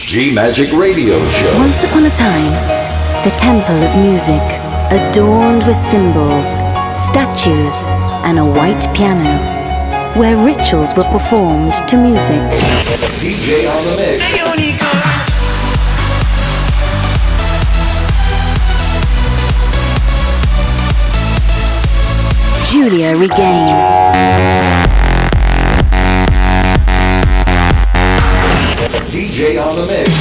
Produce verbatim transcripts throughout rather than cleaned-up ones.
G Magic Radio Show. Once upon a time, the temple of music, adorned with symbols, statues, and a white piano, where rituals were performed to music. D J on the mix. Giulia Regain. D J on the mix.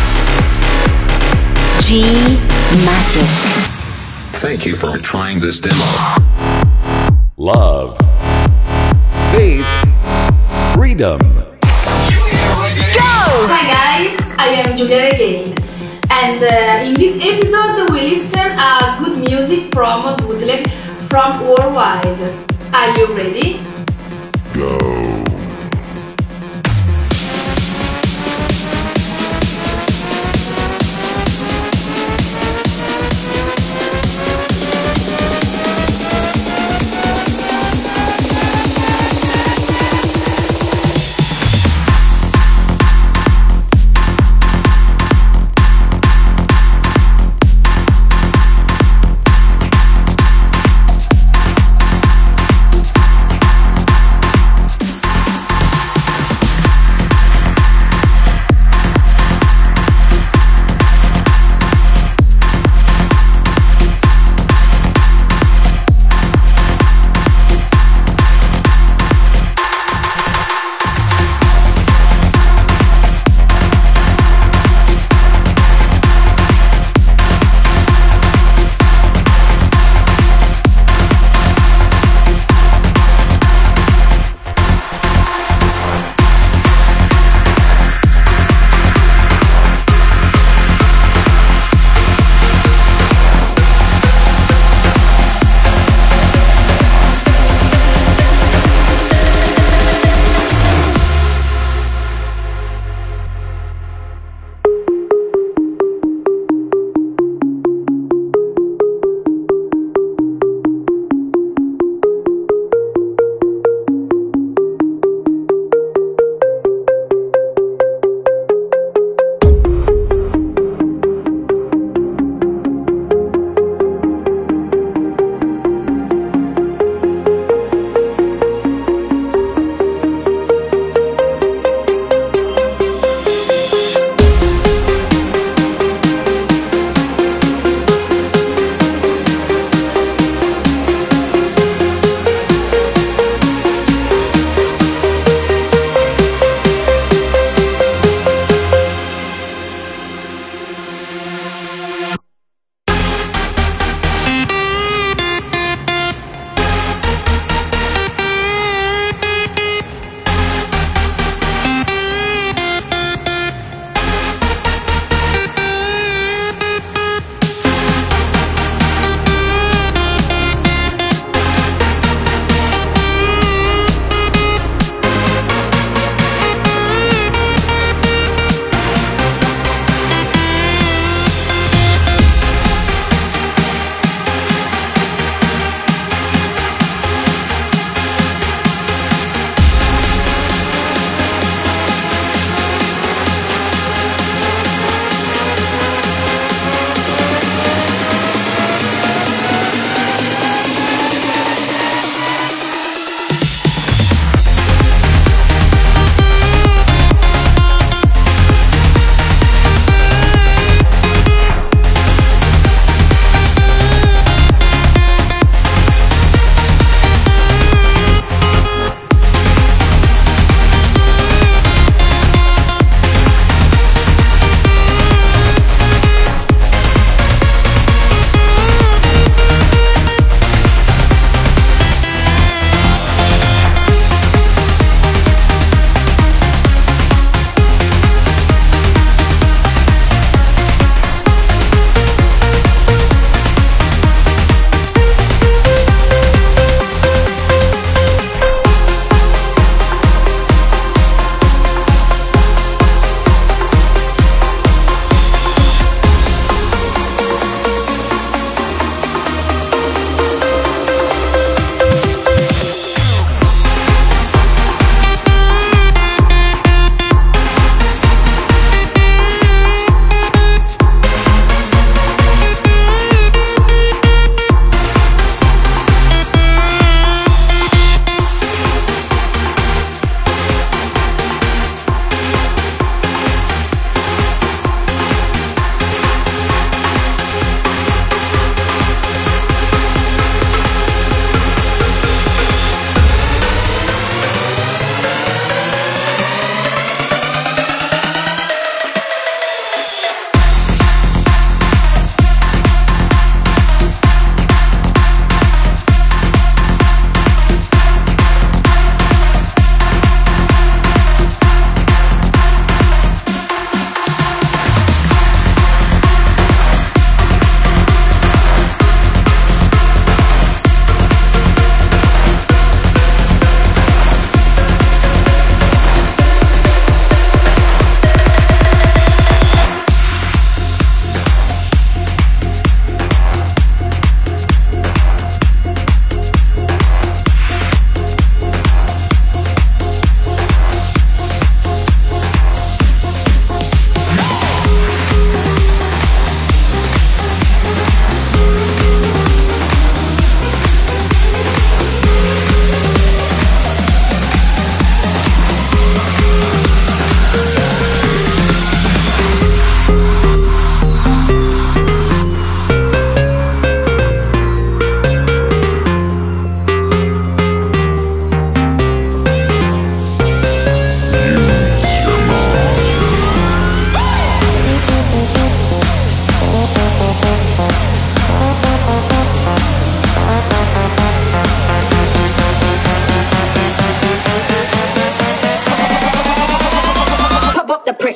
G Magic. Thank you for trying this demo. Love. Faith. Freedom. Go! Hi guys, I am Giulia Regain. And uh, in this episode we listen a good music from bootleg from worldwide. Are you ready? Go.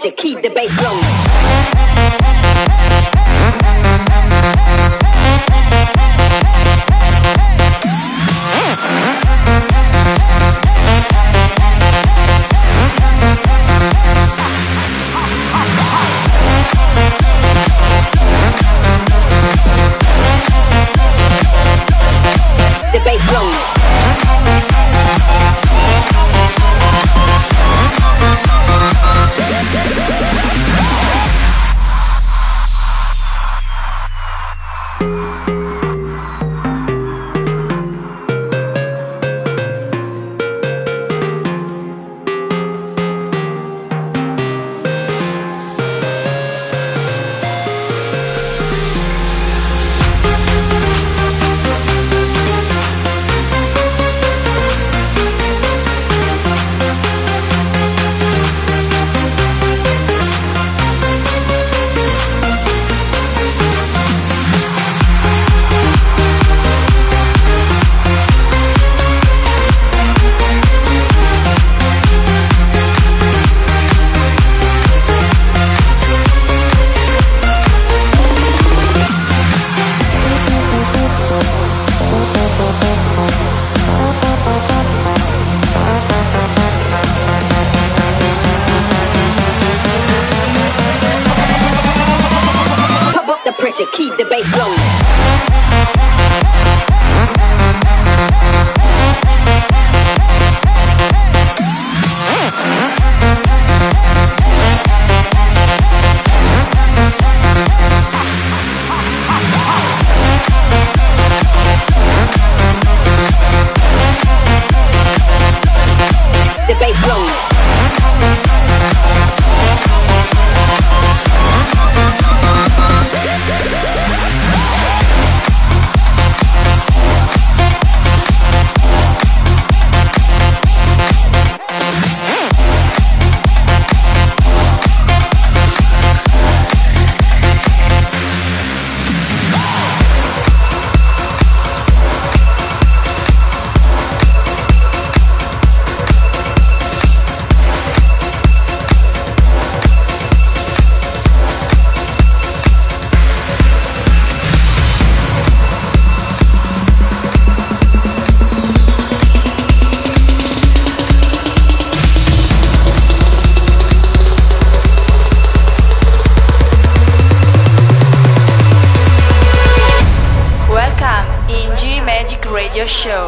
pressure, keep the bass rolling. The bass rolling. Pressure, keep the bass rolling. The bass rolling. Radio Show.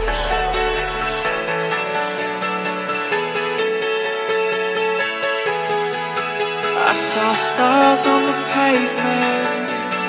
I saw stars on the pavement,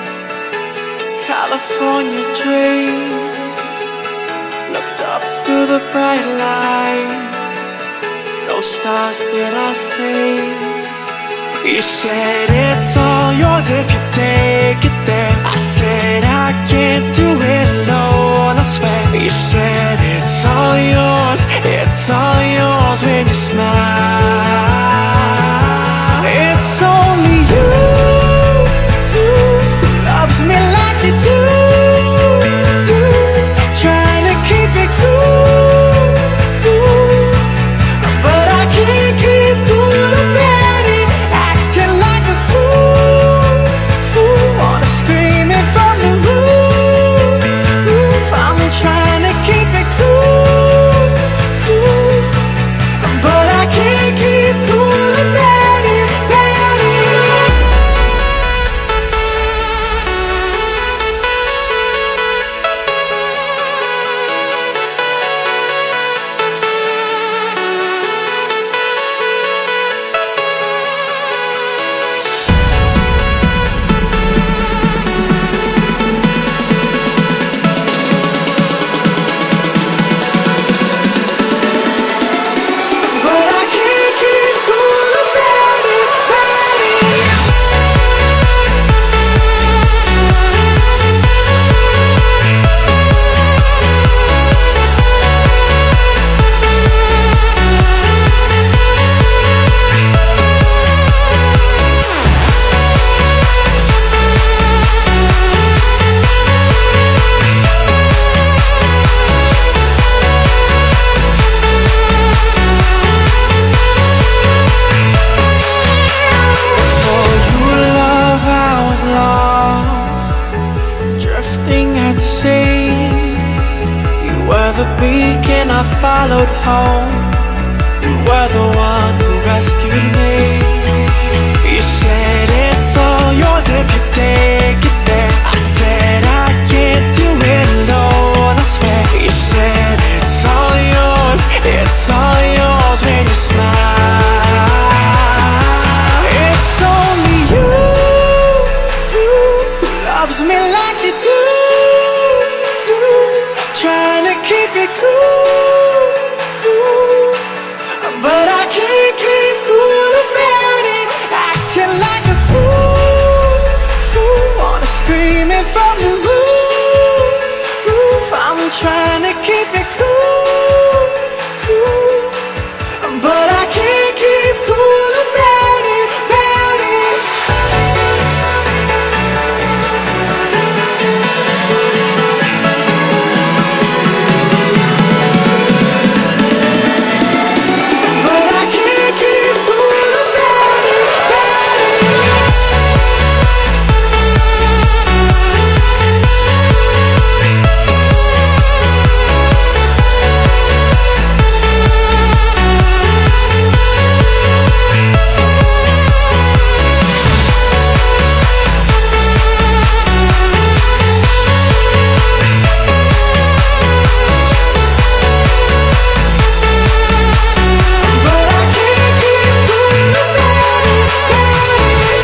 California dreams. Looked up through the bright lights, no stars did I see. You said it's all yours if you take it there. I said I can't do it alone, I swear. You said it's all yours, it's all yours when you smile. It's only you who loves me like you do, do. Trying to keep it cool, cool. But I can't keep cool about it. Acting like a fool, fool. Wanna scream it from the roof, roof. I'm trying to keep it cool, cool. But I can't home. You were the one who rescued me. You said it's all yours if you take it there. I said I can't do it alone, I swear. You said it's all yours, it's all yours when you smile. It's only you who loves me like you do, do. Trying to keep it cool, cool. But I can't keep cool about it. Acting like a fool, fool. Wanna scream it from the roof, roof. I'm trying to keep it cool, cool. But I can't keep cool about it, about it. But I can't keep cool about it, about it. But I can't keep cool about it, about it.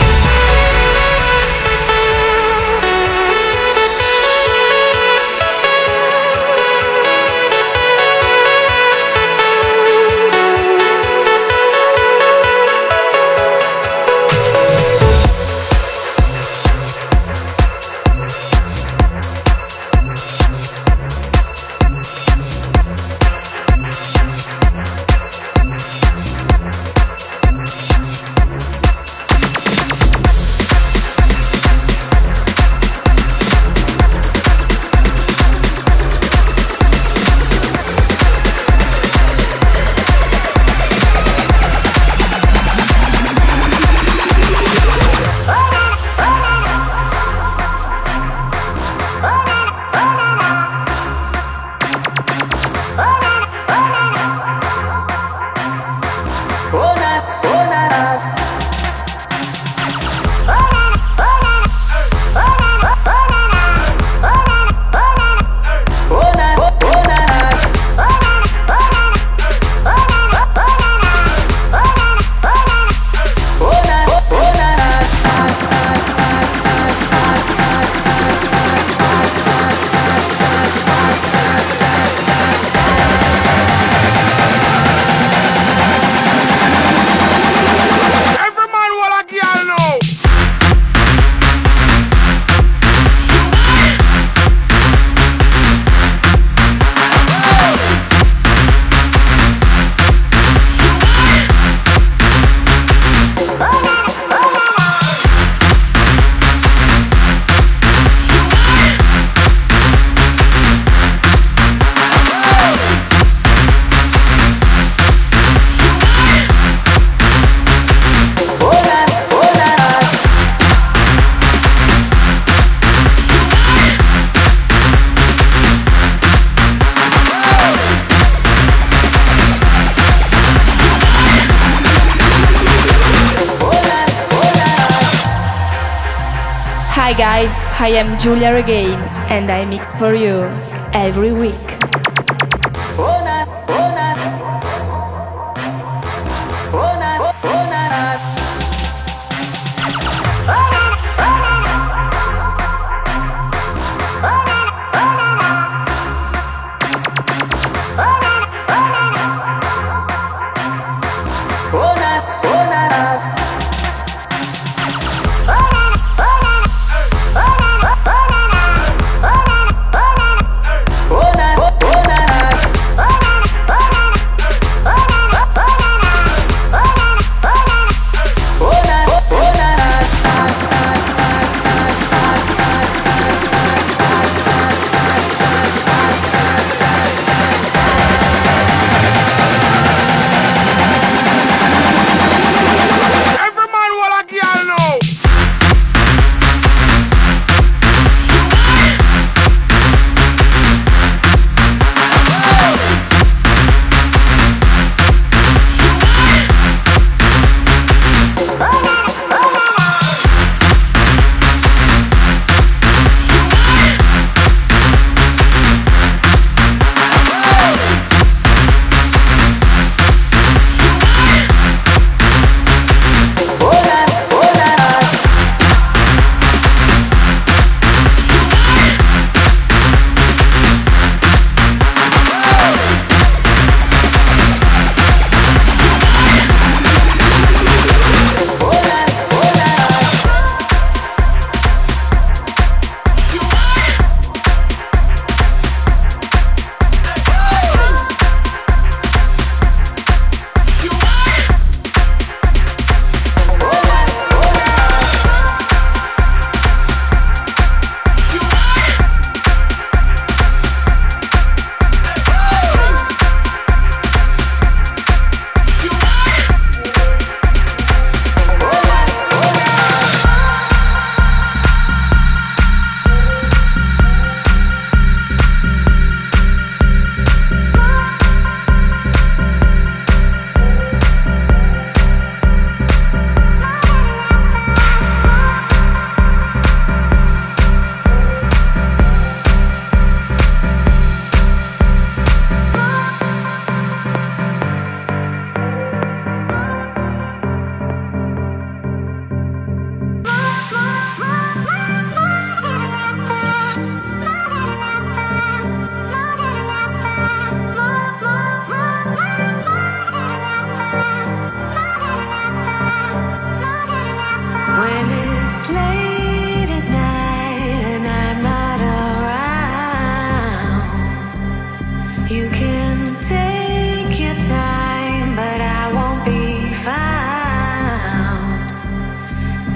Hi guys, I am Giulia Regain and I mix for you every week. Oh,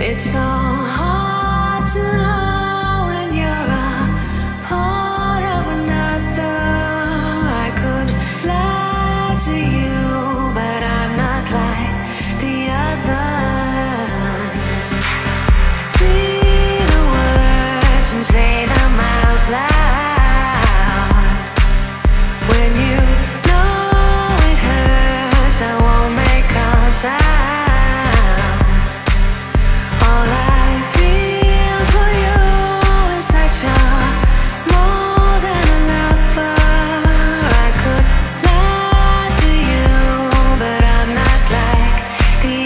It's so hard to know when you're a part of another. I could fly to you, but I'm not like the others. See the words and say them out loud. When you know it hurts, I won't make a sound. All I feel for you is such a more than a lover. I could lie to you, but I'm not like the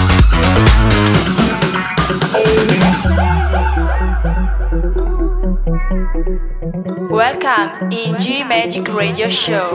Ooh. Welcome in G Magic Radio Show.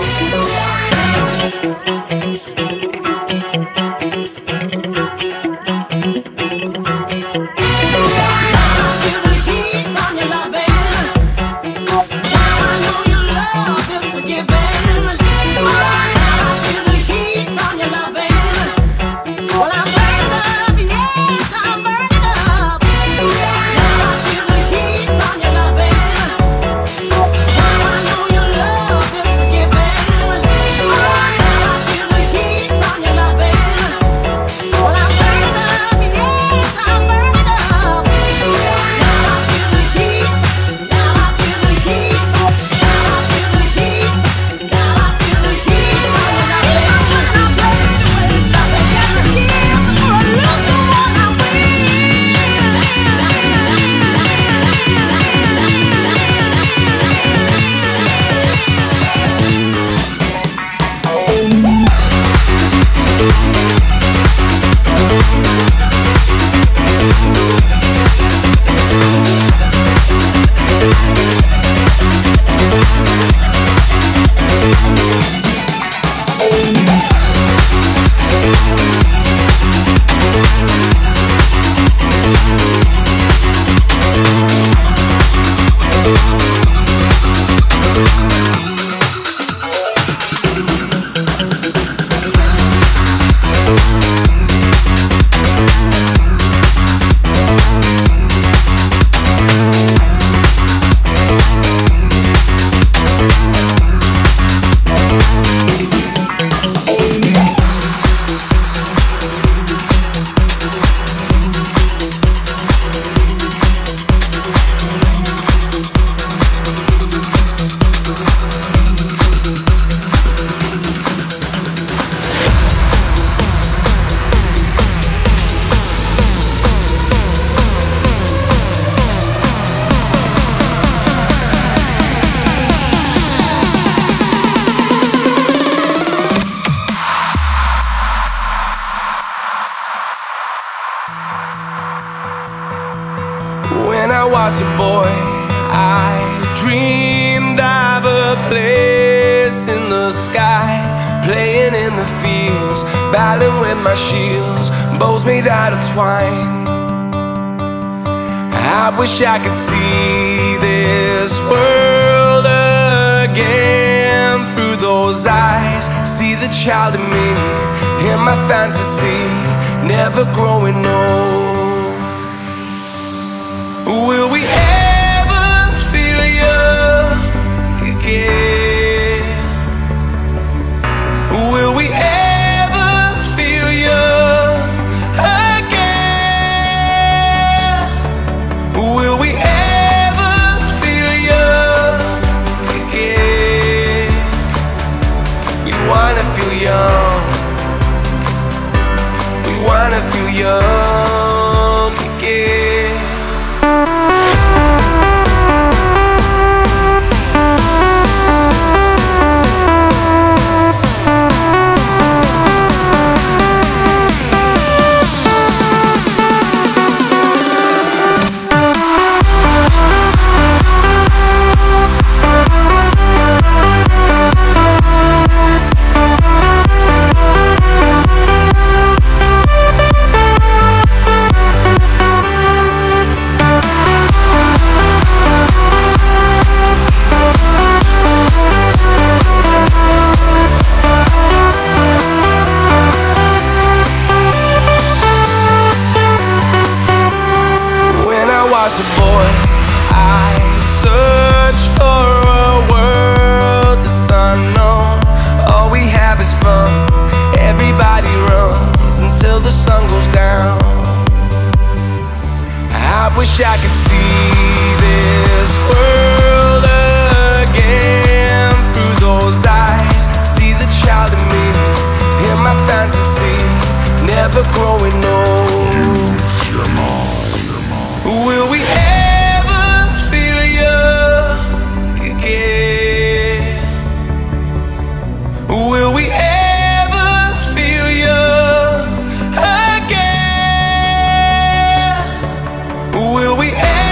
When I was a boy, I dreamed of a place in the sky, playing in the fields, battling with my shields, bows made out of twine. I wish I could see this world again through those eyes, see the child in me, in my fantasy, never growing old. Will we ever feel young again? Will we ever feel young again? Will we ever feel young again? We wanna feel young. We wanna feel young again. As a boy, I searched for a world that's unknown. All we have is fun. Everybody runs until the sun goes down. I wish I could see this world again through those eyes, see the child in me, in my fantasy, never growing old. Will we ever feel young again? Will we ever feel young again? Will we ever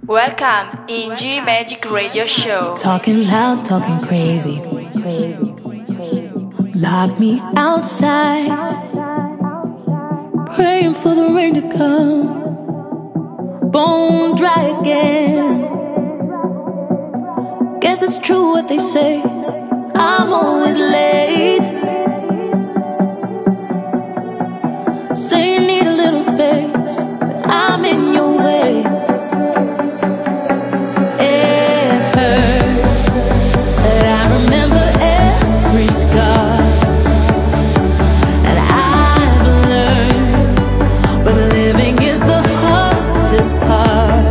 Welcome in G Magic Radio Show. Talking loud, talking crazy. Lock me outside, praying for the rain to come. Bone dry again. Guess it's true what they say, I'm always late. Say you need a little space, but I'm in your way. It hurts, but I remember every scar. And I've learned when living is the hardest part.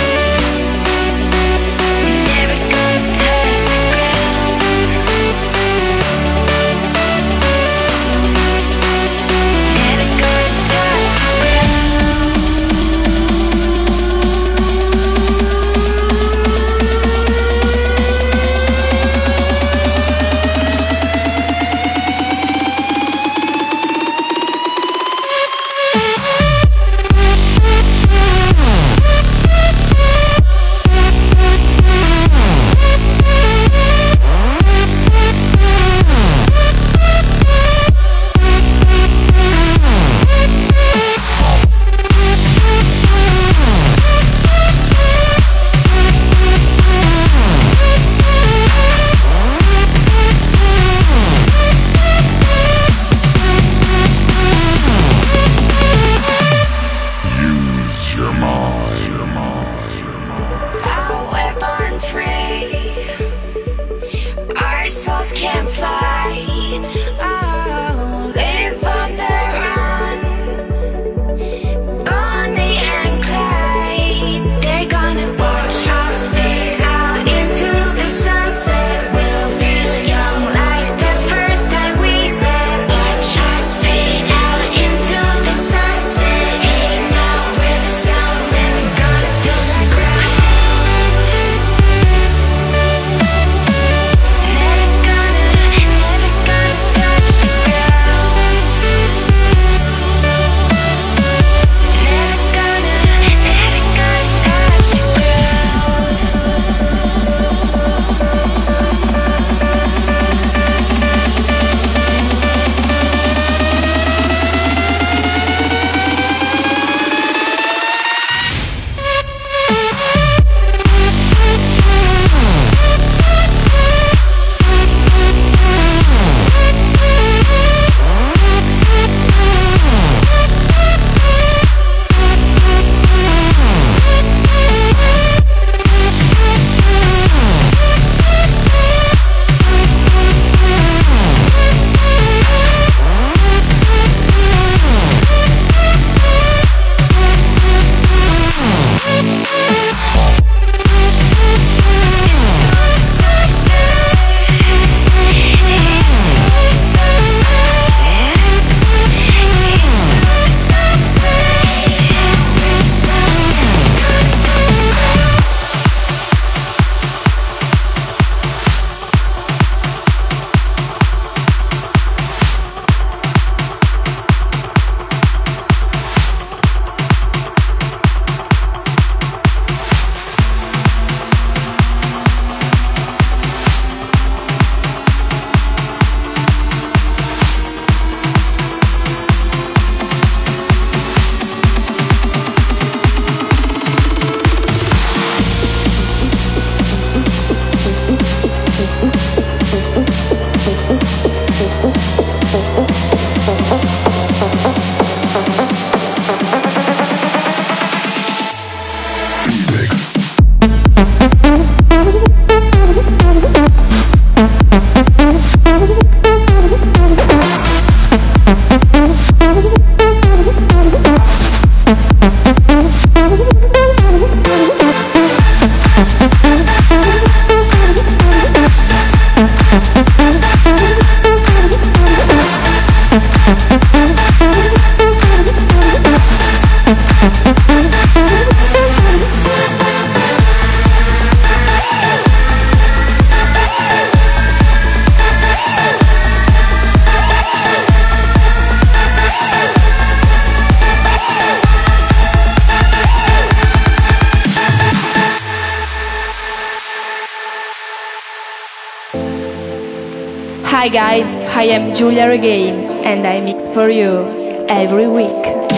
Never gonna touch the ground. Hi guys, I am Giulia Regain and I mix for you every week.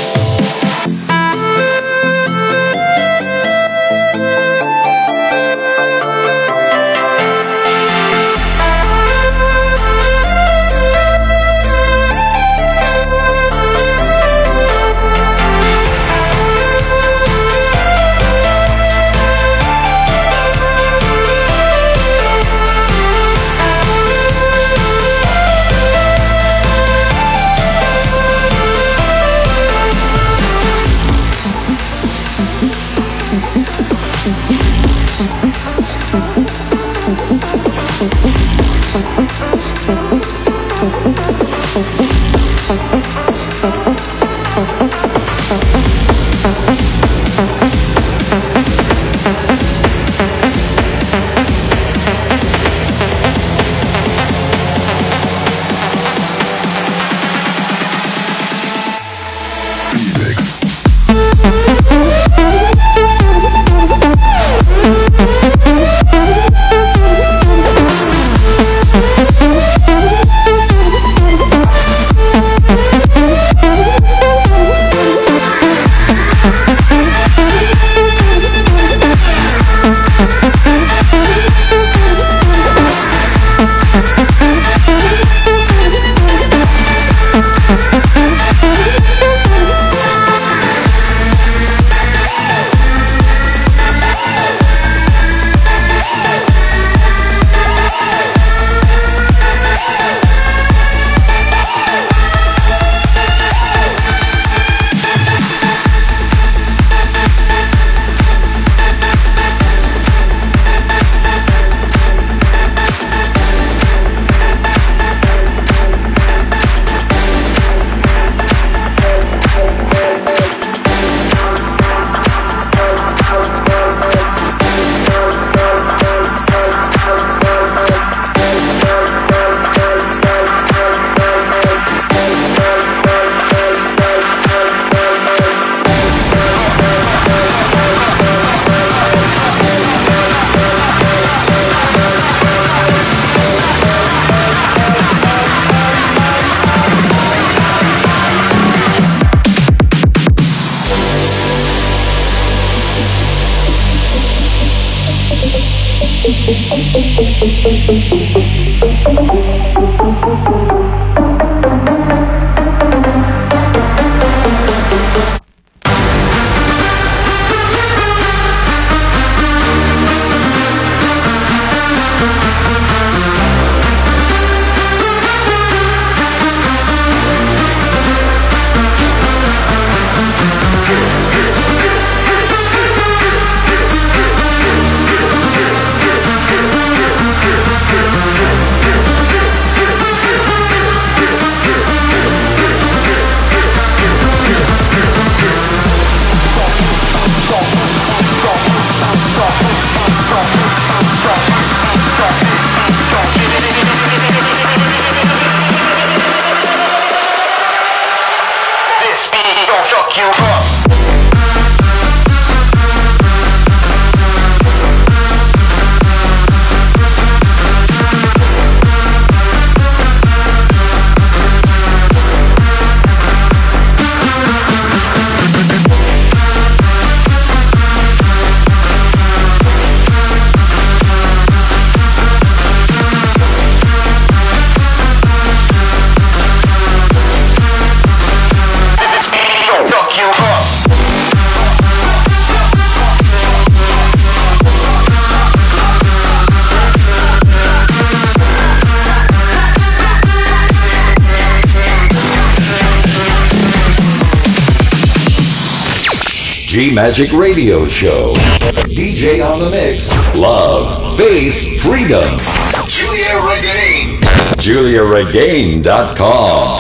G Magic Radio Show. D J on the mix. Love, faith, freedom. Giulia Regain. Giulia Regain dot com.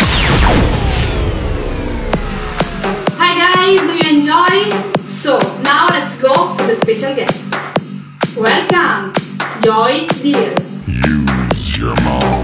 Hi guys, do you enjoy? So now let's go for the special guest. Welcome, Joy Deal. Use your mind.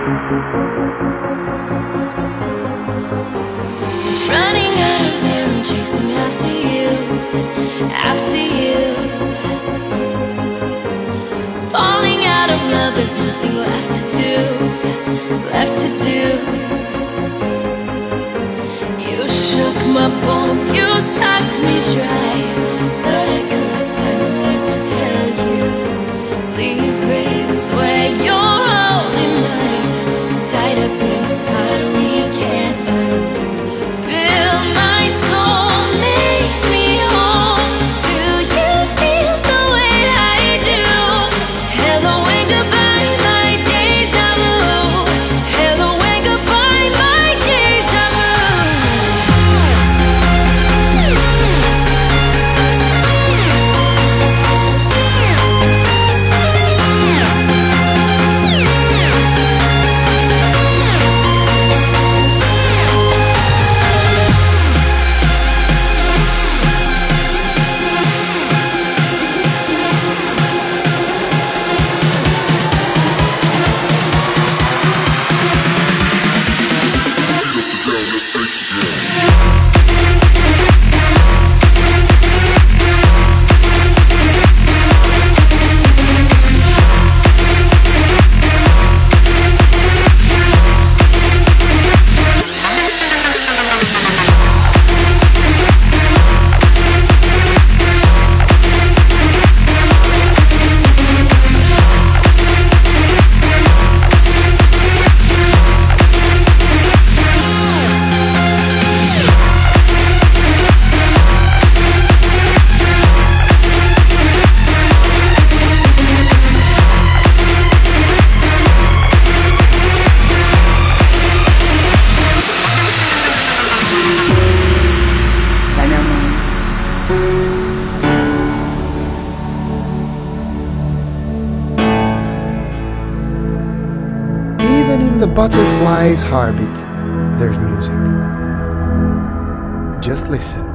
Running out of air, I'm chasing after you, after you. Falling out of love, there's nothing left to do, left to do. You shook my bones, you sucked me dry, but I couldn't find the words to tell you. Please, babe, swear you're only mine, tied up in a knot we can't undo. Fill my soul, make me whole. Do you feel the way I do? Hello and goodbye, my deja vu. Hello and goodbye, my deja The butterfly's heartbeat, there's music. Just listen.